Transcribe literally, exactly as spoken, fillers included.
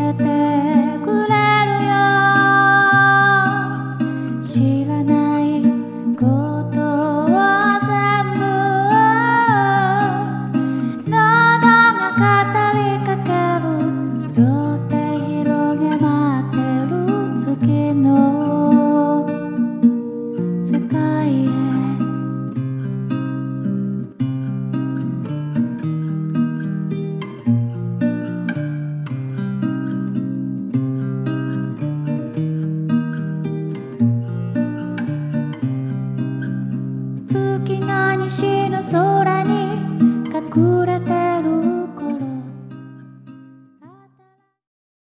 えてくれるよ。知らないことを全部喉が語りかける。両手広げ待ってる月の世界へ。月が西の空に隠れ